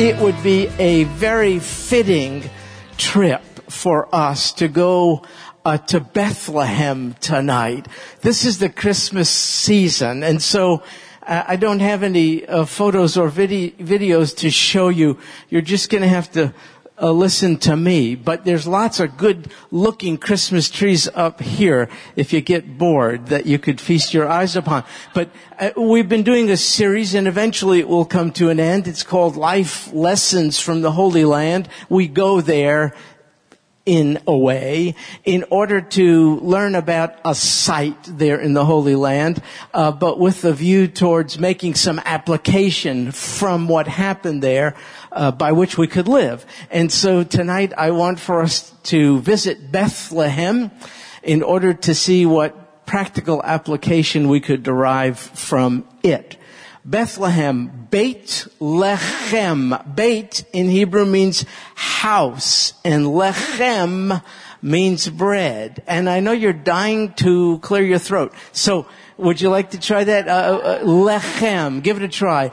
it would be a very fitting trip for us to go to Bethlehem tonight. This is the Christmas season, and so I don't have any photos or videos to show you. You're just going to have to listen to me. But there's lots of good-looking Christmas trees up here, if you get bored, that you could feast your eyes upon. But we've been doing a series, and eventually it will come to an end. It's called Life Lessons from the Holy Land. We go there in a way, in order to learn about a site there in the Holy Land, but with a view towards making some application from what happened there, by which we could live. And so tonight I want for us to visit Bethlehem in order to see what practical application we could derive from it. Bethlehem, Beit Lechem. Beit in Hebrew means house, and Lechem means bread. And I know you're dying to clear your throat. So, would you like to try that? Lechem. Give it a try.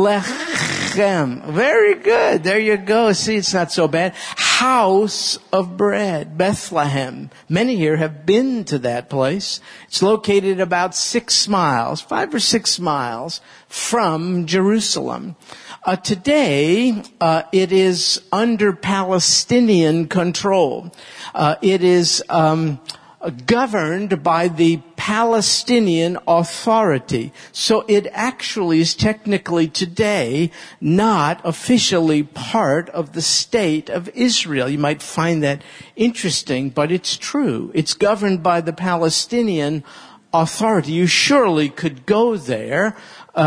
Lechem. Very good. There you go. See, it's not so bad. House of bread. Bethlehem. Many here have been to that place. It's located about 5 or 6 miles from Jerusalem. Today, it is under Palestinian control. It is governed by the Palestinian Authority. So it actually is technically today not officially part of the state of Israel. You might find that interesting, but it's true. It's governed by the Palestinian Authority. You surely could go there,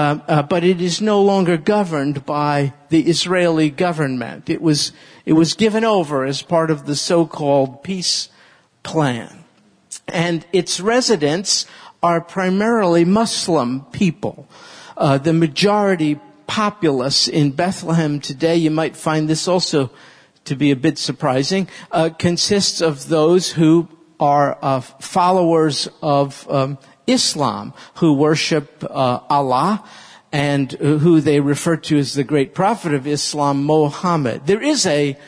but it is no longer governed by the Israeli government. It was given over as part of the so-called peace plan. And its residents are primarily Muslim people. The majority populace in Bethlehem today, you might find this also to be a bit surprising, consists of those who are followers of Islam, who worship Allah, and who they refer to as the great prophet of Islam, Muhammad. There is a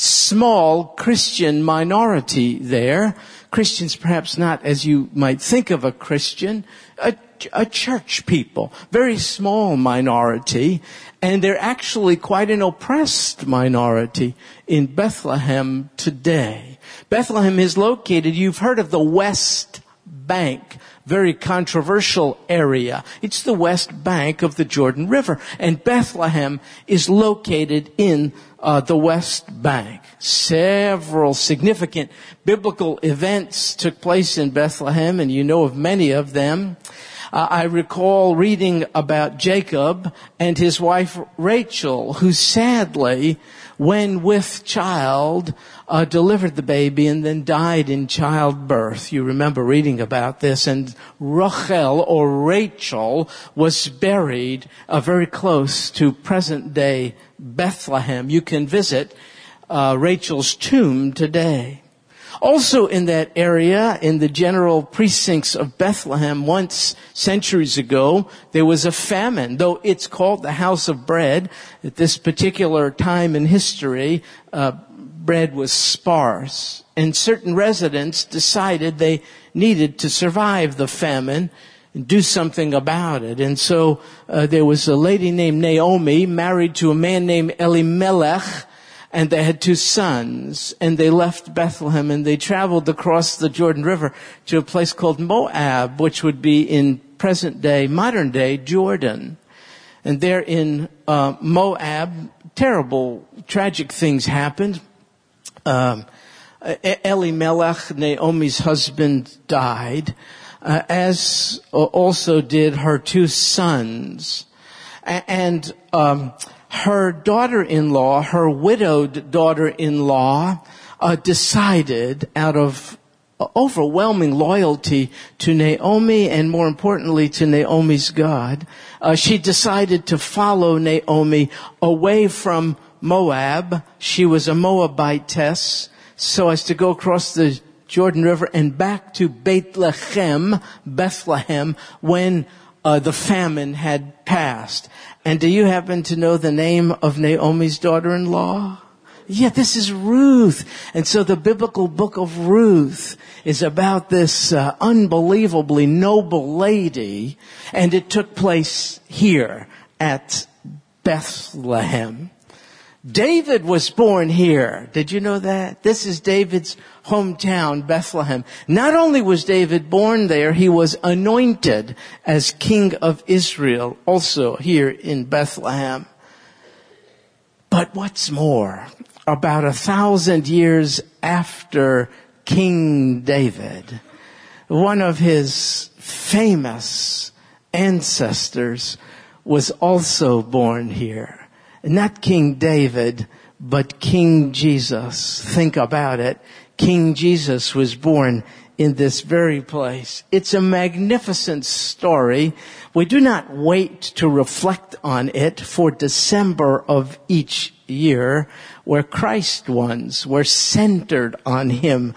small Christian minority there. Christians perhaps not as you might think of a Christian, a church people, very small minority, and they're actually quite an oppressed minority in Bethlehem today. Bethlehem is located, you've heard of the West Bank, very controversial area. It's the west bank of the Jordan River, and Bethlehem is located in the West Bank. Several significant biblical events took place in Bethlehem, and you know of many of them. I recall reading about Jacob and his wife Rachel, who sadly, when with child, delivered the baby and then died in childbirth. You remember reading about this. And Rachel, or Rachel, was buried very close to present-day Bethlehem. You can visit Rachel's tomb today. Also in that area, in the general precincts of Bethlehem, once centuries ago, there was a famine. Though it's called the House of Bread, at this particular time in history, bread was sparse. And certain residents decided they needed to survive the famine and do something about it. And so there was a lady named Naomi, married to a man named Elimelech, and they had 2 sons, and they left Bethlehem, and they traveled across the Jordan River to a place called Moab, which would be in present-day, modern-day Jordan. And there in Moab, terrible, tragic things happened. Elimelech, Naomi's husband, died, as also did her 2 sons. And her daughter-in-law, her widowed daughter-in-law, decided out of overwhelming loyalty to Naomi and more importantly to Naomi's God, she decided to follow Naomi away from Moab. She was a Moabitess, so as to go across the Jordan River and back to Beit Lechem, Bethlehem, when the famine had passed. And do you happen to know the name of Naomi's daughter-in-law? Yeah, this is Ruth. And so the biblical book of Ruth is about this unbelievably noble lady, and it took place here at Bethlehem. David was born here. Did you know that? This is David's hometown, Bethlehem. Not only was David born there, he was anointed as king of Israel, also here in Bethlehem. But what's more, about 1,000 years after King David, one of his famous ancestors was also born here. Not King David, but King Jesus. Think about it. King Jesus was born in this very place. It's a magnificent story. We do not wait to reflect on it for December of each year, where Christ ones were centered on Him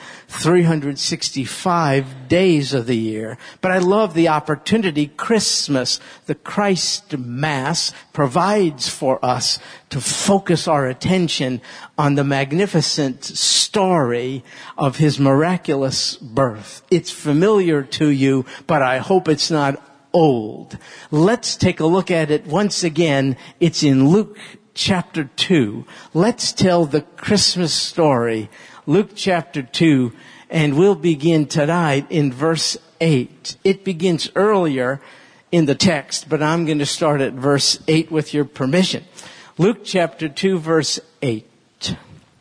365 days of the year. But I love the opportunity Christmas, the Christ Mass, provides for us to focus our attention on the magnificent story of His miraculous birth. It's familiar to you, but I hope it's not old. Let's take a look at it once again. It's in Luke chapter 2. Let's tell the Christmas story. Luke chapter 2, and we'll begin tonight in verse 8. It begins earlier in the text, but I'm going to start at verse 8 with your permission. Luke chapter 2, verse 8.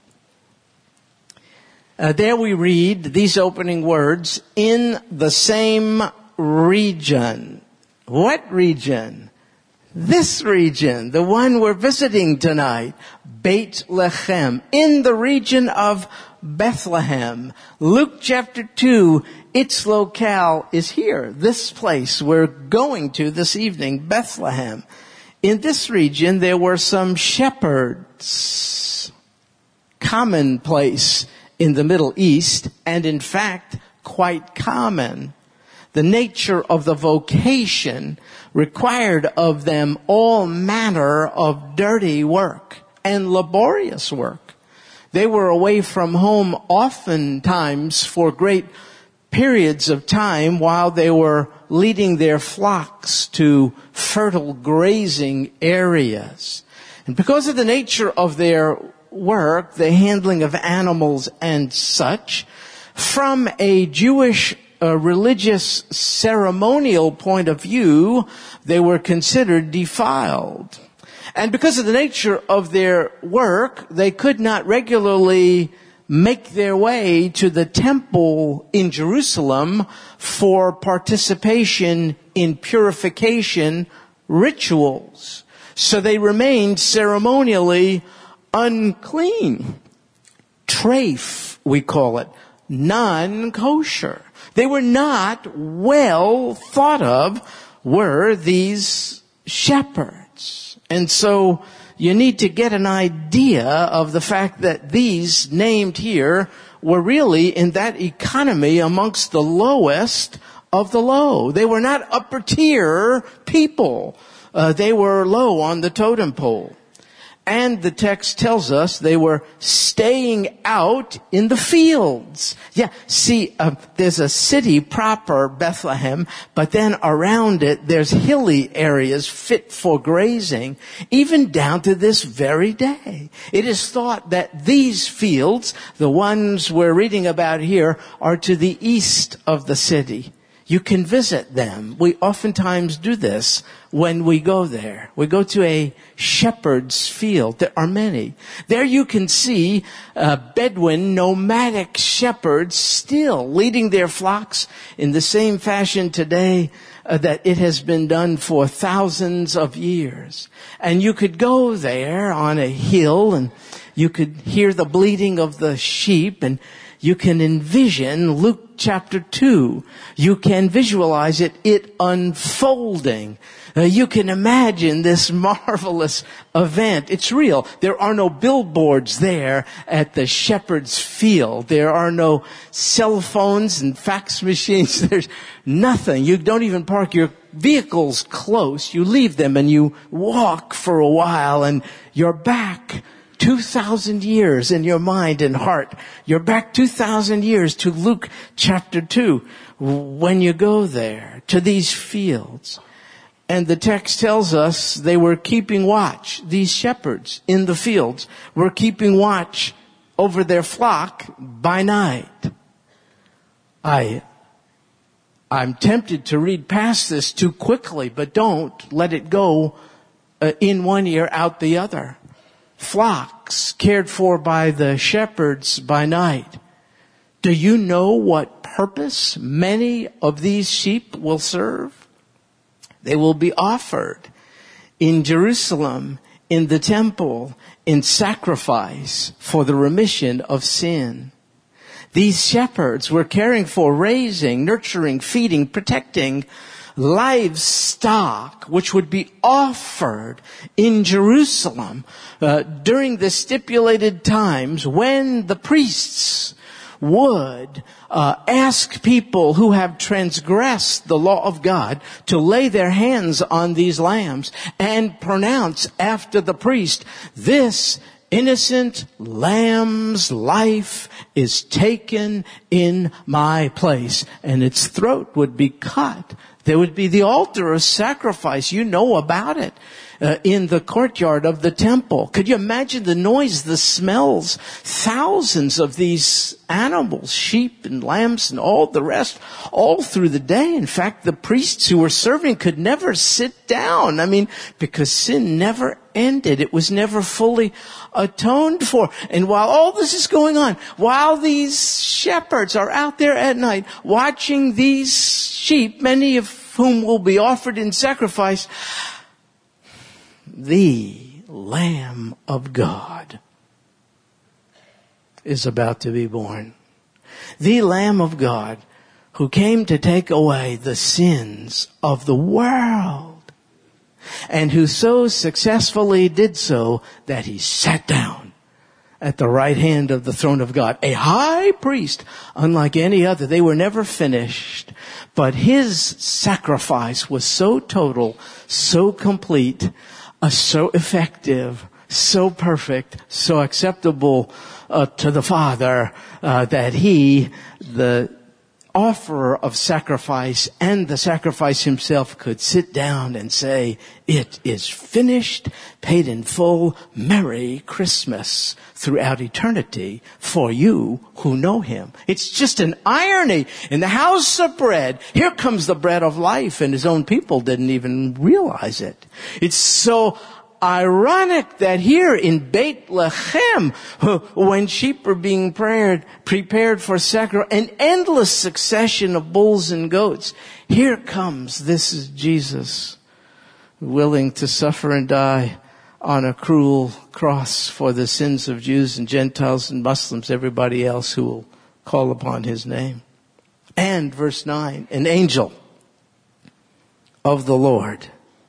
There we read these opening words, in the same region. What region? This region, the one we're visiting tonight, Bethlehem, in the region of Bethlehem. Luke chapter 2, its locale is here, this place we're going to this evening, Bethlehem. In this region, there were some shepherds, commonplace in the Middle East, and in fact, quite common. The nature of the vocation required of them all manner of dirty work and laborious work. They were away from home oftentimes for great periods of time while they were leading their flocks to fertile grazing areas. And because of the nature of their work, the handling of animals and such, from a Jewish religious ceremonial point of view, they were considered defiled. And because of the nature of their work, they could not regularly make their way to the temple in Jerusalem for participation in purification rituals. So they remained ceremonially unclean. Treif, we call it, non-kosher. They were not well thought of, were these shepherds. And so you need to get an idea of the fact that these named here were really in that economy amongst the lowest of the low. They were not upper tier people. They were low on the totem pole. And the text tells us they were staying out in the fields. Yeah, see, there's a city proper, Bethlehem, but then around it there's hilly areas fit for grazing, even down to this very day. It is thought that these fields, the ones we're reading about here, are to the east of the city. You can visit them. We oftentimes do this when we go there. We go to a shepherd's field. There are many. There you can see Bedouin nomadic shepherds still leading their flocks in the same fashion today that it has been done for thousands of years. And you could go there on a hill and you could hear the bleating of the sheep, and You can envision Luke chapter 2. You can visualize it unfolding. You can imagine this marvelous event. It's real. There are no billboards there at the shepherd's field. There are no cell phones and fax machines. There's nothing. You don't even park your vehicles close. You leave them and you walk for a while and you're back 2,000 years in your mind and heart. You're back 2,000 years to Luke chapter 2 when you go there to these fields. And the text tells us they were keeping watch. These shepherds in the fields were keeping watch over their flock by night. I'm tempted to read past this too quickly, but don't let it go in one ear, out the other. Flocks cared for by the shepherds by night. Do you know what purpose many of these sheep will serve? They will be offered in Jerusalem, in the temple, in sacrifice for the remission of sin. These shepherds were caring for, raising, nurturing, feeding, protecting livestock, which would be offered in Jerusalem during the stipulated times when the priests would ask people who have transgressed the law of God to lay their hands on these lambs and pronounce after the priest, this innocent lamb's life is taken in my place, and its throat would be cut. There would be the altar of sacrifice. You know about it. In the courtyard of the temple. Could you imagine the noise, the smells? Thousands of these animals, sheep and lambs and all the rest, all through the day. In fact, the priests who were serving could never sit down. Because sin never ended. It was never fully atoned for. And while all this is going on, while these shepherds are out there at night watching these sheep, many of whom will be offered in sacrifice, the Lamb of God is about to be born. The Lamb of God who came to take away the sins of the world, and who so successfully did so that he sat down at the right hand of the throne of God. A high priest, unlike any other. They were never finished, but his sacrifice was so total, so complete, so effective, so perfect, so acceptable to the Father, that he, the offerer of sacrifice and the sacrifice himself, could sit down and say, it is finished, paid in full, Merry Christmas throughout eternity for you who know him. It's just an irony. In the house of bread, here comes the bread of life, and his own people didn't even realize it. It's so ironic that here in Bethlehem, when sheep are being prepared for sacrifice, an endless succession of bulls and goats, here comes, this is Jesus, willing to suffer and die on a cruel cross for the sins of Jews and Gentiles and Muslims, everybody else who will call upon his name. And verse 9, an angel of the Lord.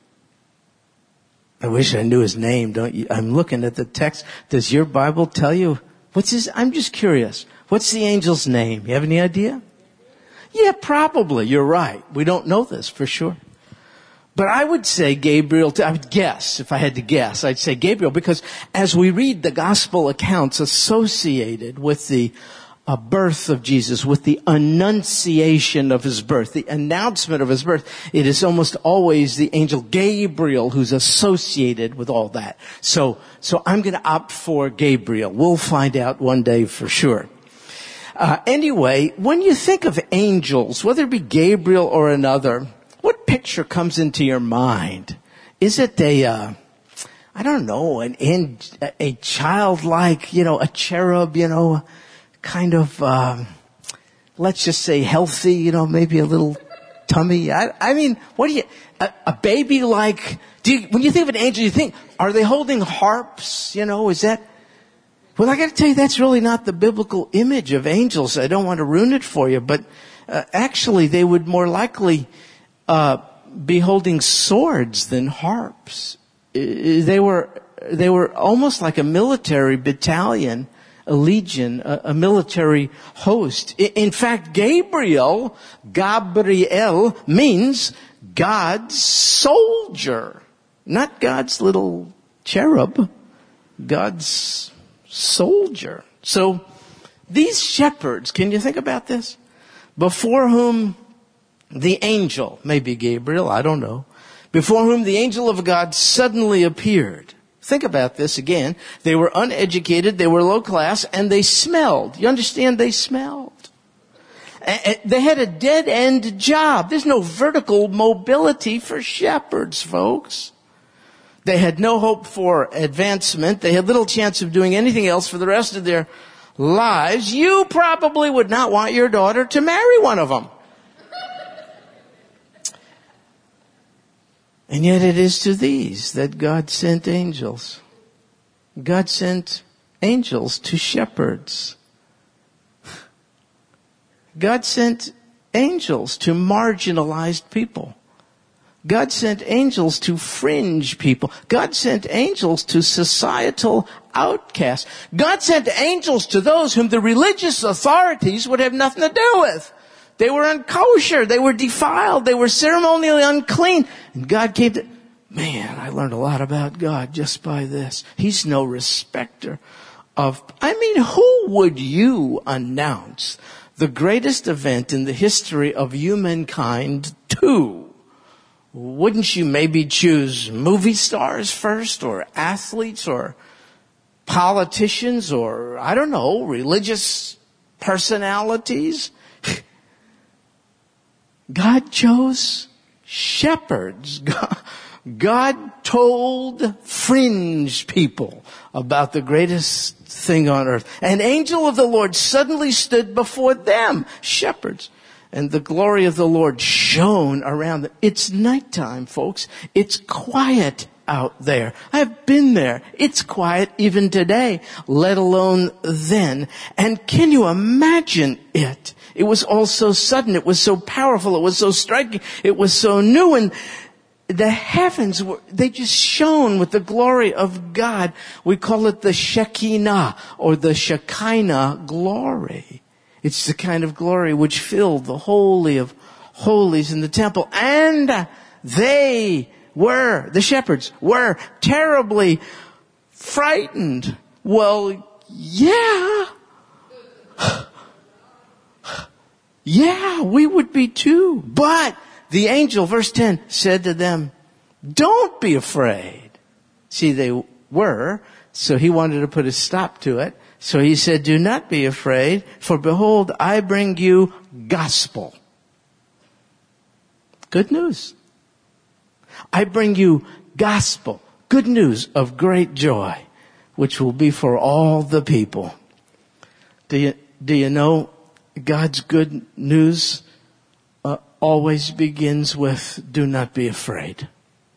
I wish I knew his name, don't you? I'm looking at the text. Does your Bible tell you? I'm just curious. What's the angel's name? You have any idea? Yeah, probably. You're right. We don't know this for sure. But I would say Gabriel, I would guess, if I had to guess, I'd say Gabriel, because as we read the gospel accounts associated with the birth of Jesus, with the annunciation of his birth, the announcement of his birth, it is almost always the angel Gabriel who's associated with all that. So I'm going to opt for Gabriel. We'll find out one day for sure. Anyway, when you think of angels, whether it be Gabriel or another, what picture comes into your mind? Is it a childlike, a cherub, kind of, let's just say healthy, maybe a little tummy. What do you, a baby like, when you think of an angel, you think, are they holding harps? Is that, Well, I got to tell you, that's really not the biblical image of angels. I don't want to ruin it for you, but actually they would more likely be holding swords than harps. They were almost like a military battalion, a legion, a military host. In fact, Gabriel means God's soldier, not God's little cherub, God's soldier. So these shepherds, can you think about this? Before whom the angel, maybe Gabriel, I don't know, before whom the angel of God suddenly appeared. Think about this again. They were uneducated, they were low class, and they smelled. You understand? They smelled. They had a dead-end job. There's no vertical mobility for shepherds, folks. They had no hope for advancement. They had little chance of doing anything else for the rest of their lives. You probably would not want your daughter to marry one of them. And yet it is to these that God sent angels. God sent angels to shepherds. God sent angels to marginalized people. God sent angels to fringe people. God sent angels to societal outcasts. God sent angels to those whom the religious authorities would have nothing to do with. They were unkosher. They were defiled. They were ceremonially unclean. And God came to... Man, I learned a lot about God just by this. He's no respecter of... who would you announce the greatest event in the history of humankind to? Wouldn't you maybe choose movie stars first, or athletes, or politicians, or, I don't know, religious personalities? God chose shepherds. God told fringe people about the greatest thing on earth. An angel of the Lord suddenly stood before them, shepherds, and the glory of the Lord shone around them. It's nighttime, folks. It's quiet out there. I've been there. It's quiet even today, let alone then. And can you imagine it? It was all so sudden. It was so powerful. It was so striking. It was so new. And the heavens they just shone with the glory of God. We call it the Shekinah or the Shekinah glory. It's the kind of glory which filled the Holy of Holies in the temple. And the shepherds were terribly frightened. Well, yeah. Yeah, we would be too. But the angel, verse 10, said to them, don't be afraid. See, they were, so he wanted to put a stop to it. So he said, do not be afraid, for behold, I bring you gospel. Good news. I bring you gospel, good news of great joy, which will be for all the people. Do you know God's good news always begins with, do not be afraid.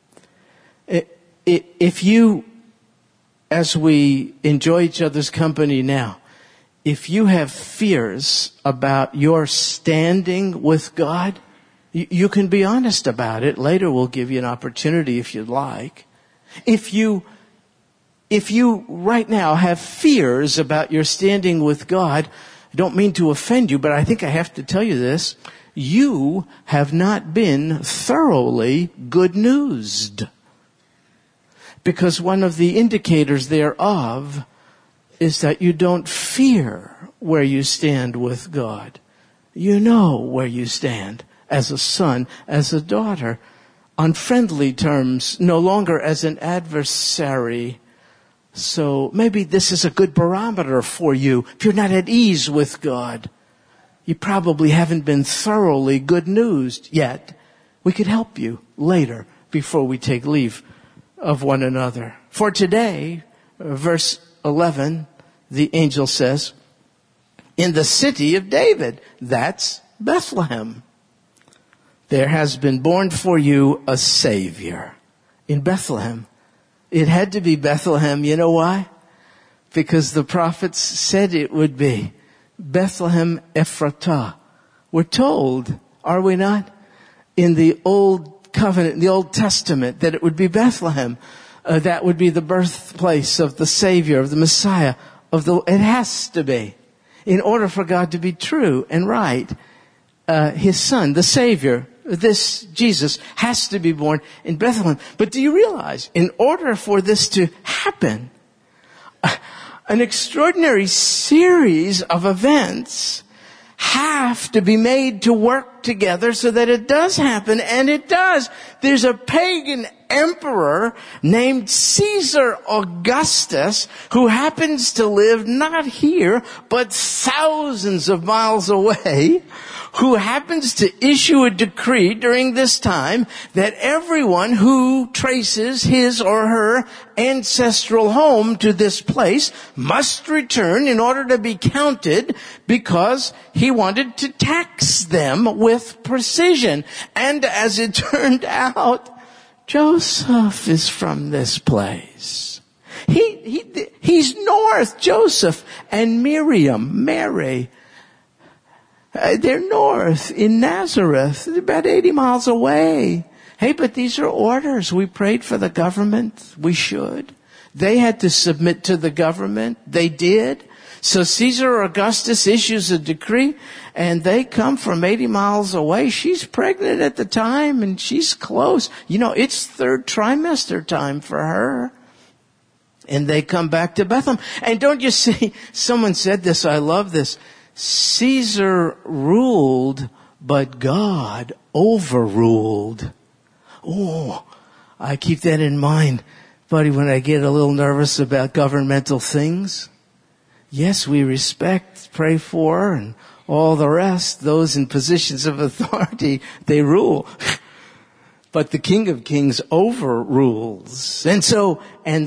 If you, as we enjoy each other's company now, if you have fears about your standing with God, you can be honest about it. Later we'll give you an opportunity if you'd like. If you right now have fears about your standing with God, I don't mean to offend you, but I think I have to tell you this. You have not been thoroughly good newsed. Because one of the indicators thereof is that you don't fear where you stand with God. You know where you stand as a son, as a daughter, on friendly terms, no longer as an adversary. So maybe this is a good barometer for you. If you're not at ease with God, you probably haven't been thoroughly good newsed yet. We could help you later before we take leave of one another. For today, verse 11, the angel says, in the city of David, that's Bethlehem, there has been born for you a Savior. In Bethlehem. It had to be Bethlehem. You know why? because the prophets said it would be. Bethlehem Ephratah. We're told, are we not, in the Old Covenant, the Old Testament, that it would be Bethlehem. That would be the birthplace of the Savior, of the Messiah. It has to be. In order for God to be true and right, His Son, the Savior, this Jesus, has to be born in Bethlehem. But do you realize, in order for this to happen, an extraordinary series of events have to be made to work together so that it does happen, and it does. There's a pagan emperor named Caesar Augustus who happens to live not here, but thousands of miles away, who happens to issue a decree during this time that everyone who traces his or her ancestral home to this place must return in order to be counted, because he wanted to tax them with precision. And as it turned out, Joseph is from this place. He's north, Joseph and Miriam, Mary. They're north in Nazareth. They're about 80 miles away. Hey, but these are orders. We prayed for the government. We should. They had to submit to the government. They did. So Caesar Augustus issues a decree, and they come from 80 miles away. She's pregnant at the time, and she's close. It's third trimester time for her. And they come back to Bethlehem. And don't you see, someone said this, I love this. Caesar ruled, but God overruled. Oh, I keep that in mind, buddy, when I get a little nervous about governmental things. Yes, we respect, pray for, and all the rest. Those in positions of authority, they rule. But the King of Kings overrules. And so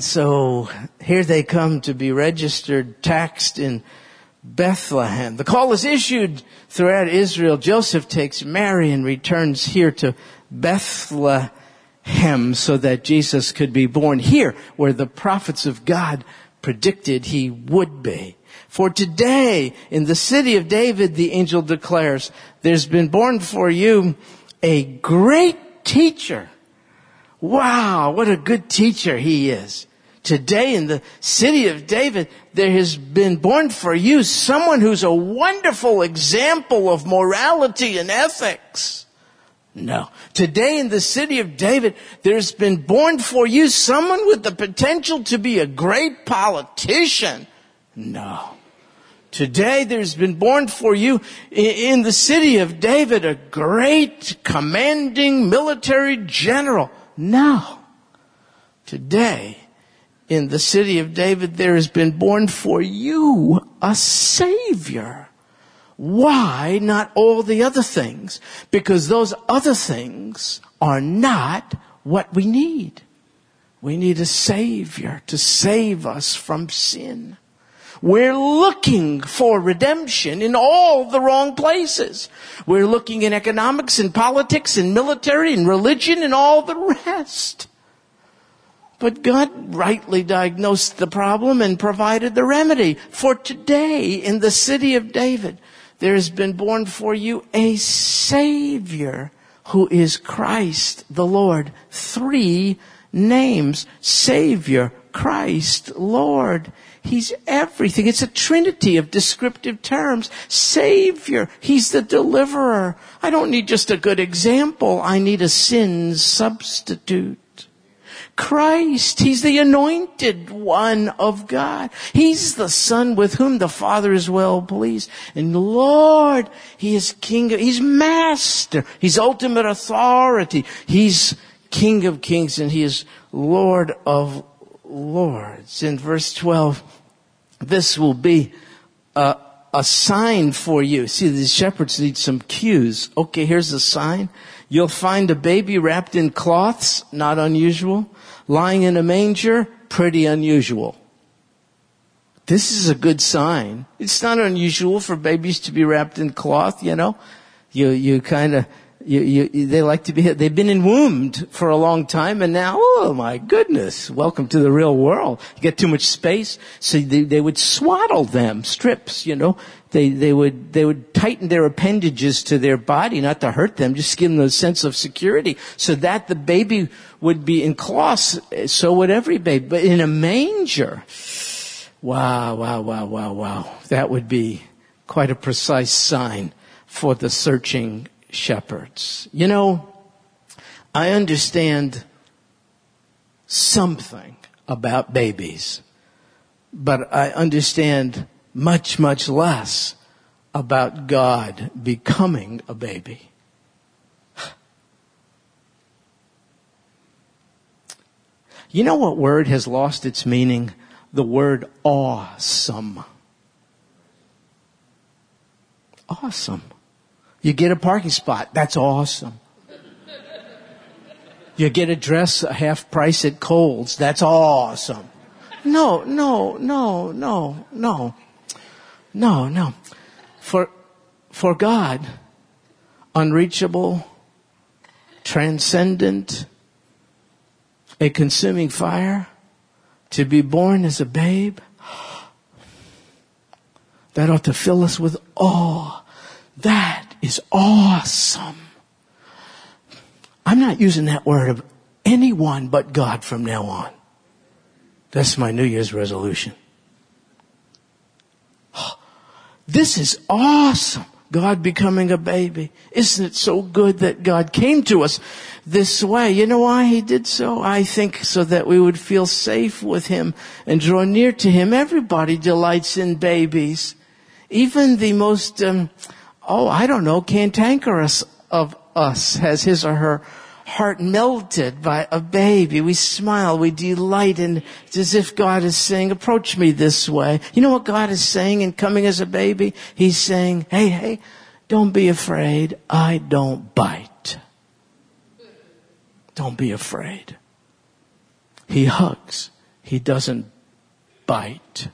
here they come to be registered, taxed in Bethlehem. The call is issued throughout Israel. Joseph takes Mary and returns here to Bethlehem so that Jesus could be born here, where the prophets of God predicted he would be. For today, in the city of David, the angel declares, there's been born for you a great teacher. Wow, what a good teacher he is. Today in the city of David, there has been born for you someone who's a wonderful example of morality and ethics. No. Today in the city of David, there's been born for you someone with the potential to be a great politician. No. Today there's been born for you in the city of David a great commanding military general. No. Today, in the city of David, there has been born for you a Savior. Why not all the other things? Because those other things are not what we need. We need a Savior to save us from sin. We're looking for redemption in all the wrong places. We're looking in economics and politics and military and religion and all the rest. But God rightly diagnosed the problem and provided the remedy. For today, in the city of David, there has been born for you a Savior who is Christ the Lord. 3 names. Savior, Christ, Lord. He's everything. It's a trinity of descriptive terms. Savior, He's the deliverer. I don't need just a good example. I need a sin substitute. Christ, He's the anointed one of God. He's the Son with whom the Father is well pleased. And Lord, He is King, He's Master. He's ultimate authority. He's King of Kings and He is Lord of Lords. In verse 12, this will be a sign for you. See, these shepherds need some cues. Okay, here's a sign. You'll find a baby wrapped in cloths, not unusual. Lying in a manger, pretty unusual. This is a good sign. It's not unusual for babies to be wrapped in cloth, You kind of They like to they've been enwombed for a long time, and now, oh my goodness, welcome to the real world. You get too much space, so they would swaddle them, strips, They would tighten their appendages to their body, not to hurt them, just give them a sense of security, so that the baby would be in cloths. So would every baby. But in a manger, wow. That would be quite a precise sign for the searching shepherds. I understand something about babies, but I understand much, much less about God becoming a baby. You know what word has lost its meaning? The word awesome. Awesome. You get a parking spot. That's awesome. You get a dress a half price at Kohl's. That's awesome. No. For God, unreachable, transcendent, a consuming fire, to be born as a babe, that ought to fill us with awe. That is awesome. I'm not using that word of anyone but God from now on. That's my New Year's resolution. This is awesome. God becoming a baby. Isn't it so good that God came to us this way? You know why He did so? I think so that we would feel safe with Him and draw near to Him. Everybody delights in babies. Even the most, cantankerous of us has his or her heart melted by a baby. We smile, we delight, and it's as if God is saying, approach me this way. You know what God is saying in coming as a baby? He's saying, hey, don't be afraid. I don't bite. Don't be afraid. He hugs. He doesn't bite.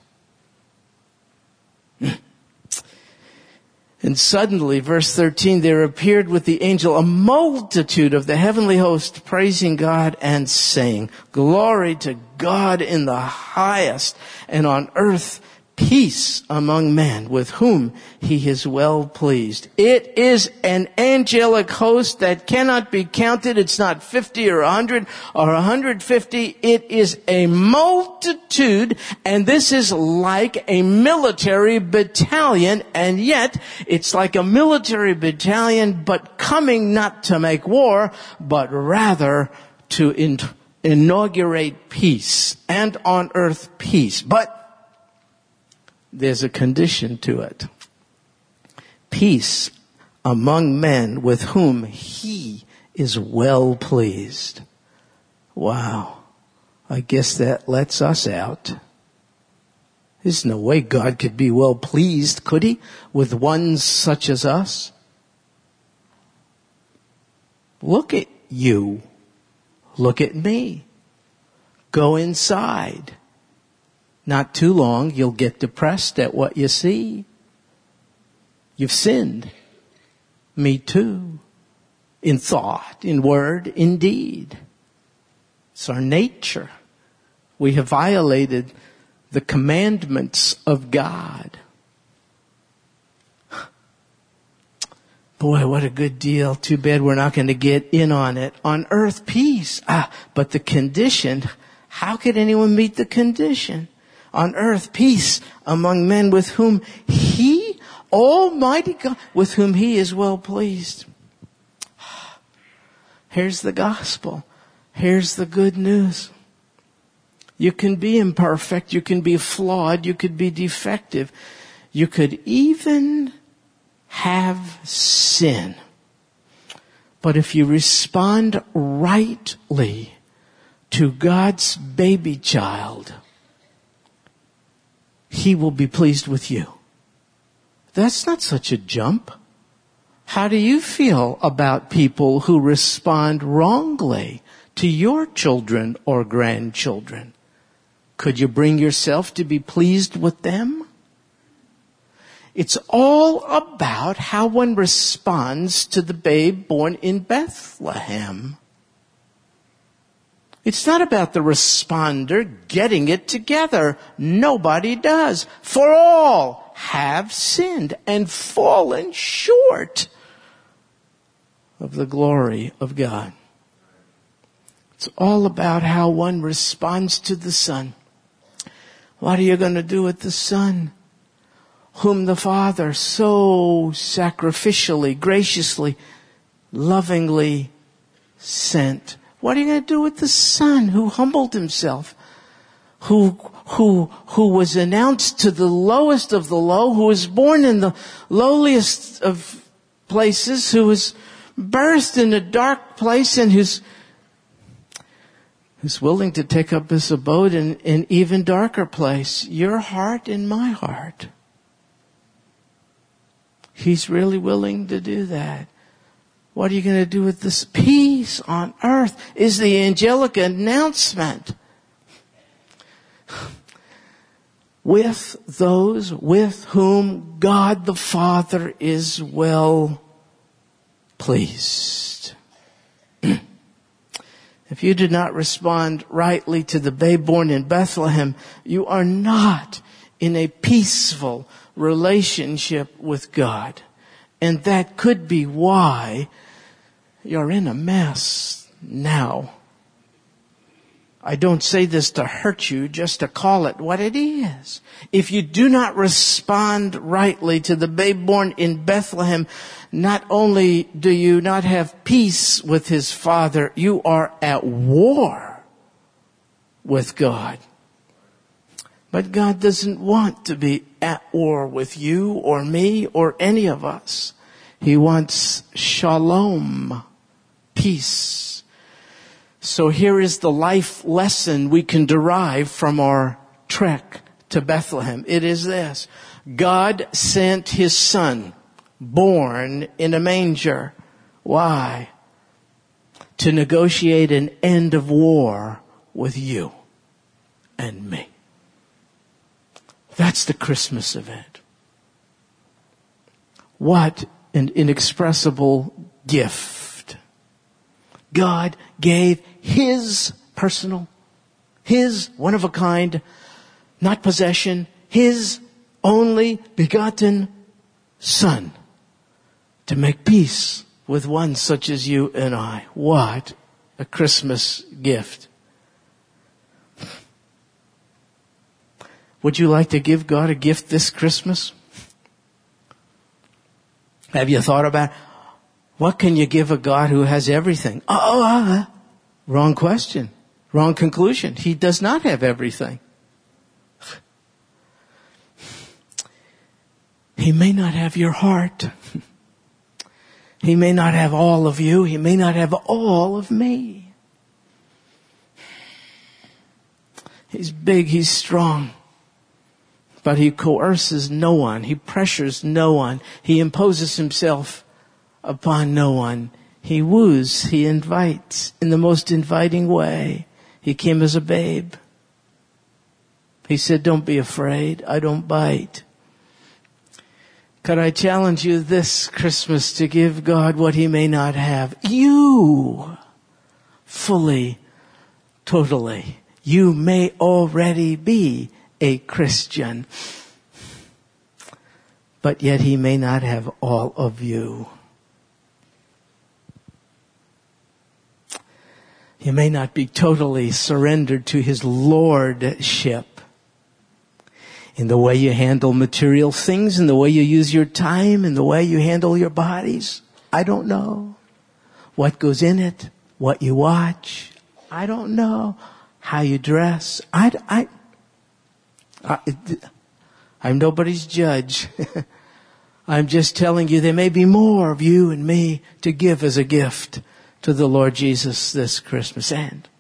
And suddenly, verse 13, there appeared with the angel a multitude of the heavenly host praising God and saying, glory to God in the highest, and on earth peace among men with whom He is well pleased. It is an angelic host that cannot be counted. It's not 50 or 100 or 150. It is a multitude, and this is like a military battalion, and yet it's like a military battalion, but coming not to make war, but rather to inaugurate peace, and on earth peace. But there's a condition to it. Peace among men with whom He is well pleased. Wow. I guess that lets us out. There's no way God could be well pleased, could He, with ones such as us? Look at you. Look at me. Go inside. Not too long, you'll get depressed at what you see. You've sinned. Me too. In thought, in word, in deed. It's our nature. We have violated the commandments of God. Boy, what a good deal. Too bad we're not going to get in on it. On earth, peace. But the condition, how could anyone meet the condition? On earth, peace among men with whom He, Almighty God, with whom He is well pleased. Here's the gospel. Here's the good news. You can be imperfect. You can be flawed. You could be defective. You could even have sin. But if you respond rightly to God's baby child, He will be pleased with you. That's not such a jump. How do you feel about people who respond wrongly to your children or grandchildren? Could you bring yourself to be pleased with them? It's all about how one responds to the babe born in Bethlehem. It's not about the responder getting it together. Nobody does. For all have sinned and fallen short of the glory of God. It's all about how one responds to the Son. What are you going to do with the Son, whom the Father so sacrificially, graciously, lovingly sent? What are you going to do with the Son who humbled himself, who was announced to the lowest of the low, who was born in the lowliest of places, who was birthed in a dark place, and who's willing to take up his abode in an even darker place, your heart and my heart. He's really willing to do that. What are you going to do with this peace on earth? Is the angelic announcement with those with whom God the Father is well pleased. If you did not respond rightly to the babe born in Bethlehem, you are not in a peaceful relationship with God. And that could be why you're in a mess now. I don't say this to hurt you, just to call it what it is. If you do not respond rightly to the babe born in Bethlehem, not only do you not have peace with his Father, you are at war with God. But God doesn't want to be at war with you or me or any of us. He wants shalom, peace. So here is the life lesson we can derive from our trek to Bethlehem. It is this: God sent his Son, born in a manger. Why? To negotiate an end of war with you and me. That's the Christmas event. What an inexpressible gift. God gave his personal, his one of a kind, not possession, his only begotten Son to make peace with one such as you and I. What a Christmas gift. Would you like to give God a gift this Christmas? Have you thought about what can you give a God who has everything? Wrong question. Wrong conclusion. He does not have everything. He may not have your heart. He may not have all of you. He may not have all of me. He's big. He's strong. But he coerces no one. He pressures no one. He imposes himself upon no one. He woos. He invites in the most inviting way. He came as a babe. He said, "Don't be afraid. I don't bite." Could I challenge you this Christmas to give God what he may not have? You, fully, totally. You may already be a Christian, but yet he may not have all of you. You may not be totally surrendered to his lordship in the way you handle material things, in the way you use your time, in the way you handle your bodies. I don't know what goes in it, what you watch. I don't know how you dress. I'm nobody's judge. I'm just telling you there may be more of you and me to give as a gift to the Lord Jesus this Christmas. And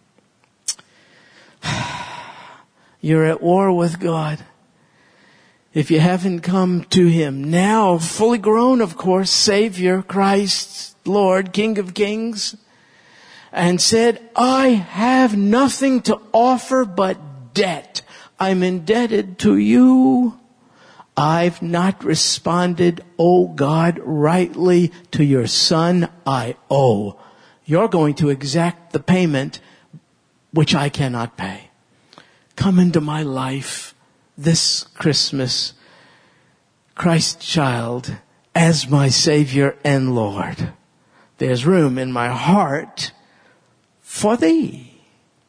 you're at war with God. If you haven't come to him now, fully grown, of course, Savior, Christ, Lord, King of Kings, and said, "I have nothing to offer but debt. I'm indebted to you. I've not responded, oh God, rightly to your Son I owe. You're going to exact the payment which I cannot pay. Come into my life this Christmas, Christ child, as my Savior and Lord. There's room in my heart for thee.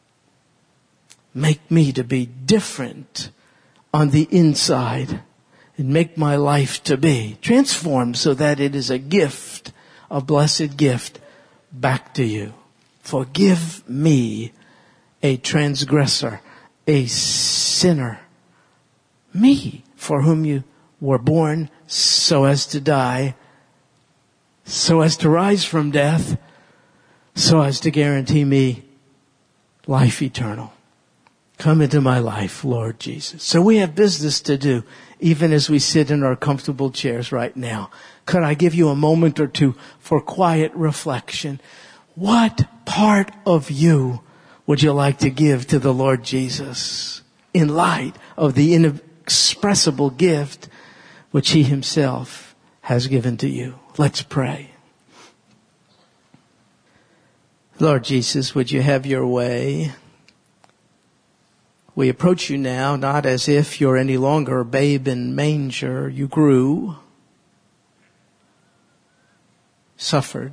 Make me to be different on the inside and make my life to be transformed so that it is a gift, a blessed gift back to you. Forgive me, a transgressor, a sinner, me, for whom you were born so as to die, so as to rise from death, so as to guarantee me life eternal. Come into my life, Lord Jesus. So we have business to do, even as we sit in our comfortable chairs right now. Could I give you a moment or two for quiet reflection? What part of you would you like to give to the Lord Jesus in light of the inexpressible gift which He Himself has given to you? Let's pray. Lord Jesus, would you have your way? We approach you now not as if you're any longer a babe in manger. You grew, suffered,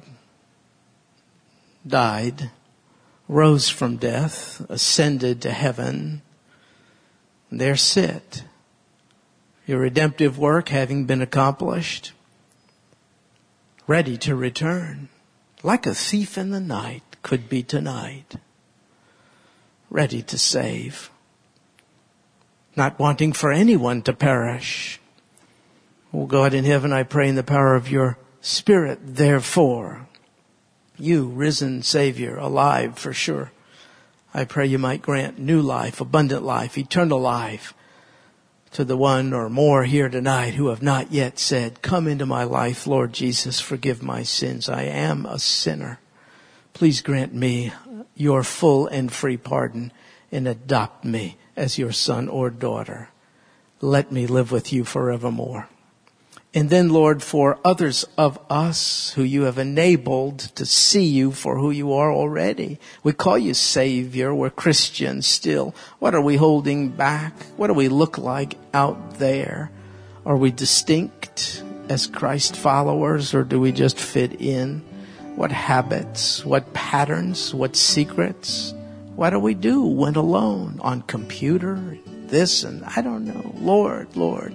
died, rose from death, ascended to heaven. There sit, your redemptive work having been accomplished, ready to return, like a thief in the night, could be tonight, ready to save, not wanting for anyone to perish. Oh God in heaven, I pray in the power of your Spirit, therefore, you, risen Savior, alive for sure, I pray you might grant new life, abundant life, eternal life to the one or more here tonight who have not yet said, come into my life, Lord Jesus, forgive my sins. I am a sinner. Please grant me your full and free pardon and adopt me as your son or daughter. Let me live with you forevermore. And then, Lord, for others of us who you have enabled to see you for who you are already. We call you Savior. We're Christians still. What are we holding back? What do we look like out there? Are we distinct as Christ followers, or do we just fit in? What habits, what patterns, what secrets? What do we do when alone? On computer, this and I don't know. Lord.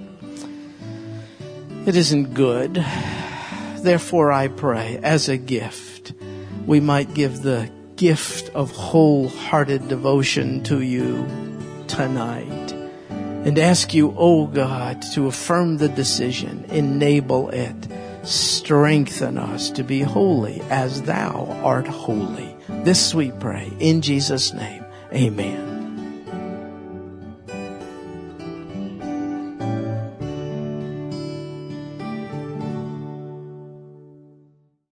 It isn't good. Therefore, I pray, as a gift, we might give the gift of wholehearted devotion to you tonight. And ask you, oh God, to affirm the decision, enable it, strengthen us to be holy as thou art holy. This we pray in Jesus' name. Amen.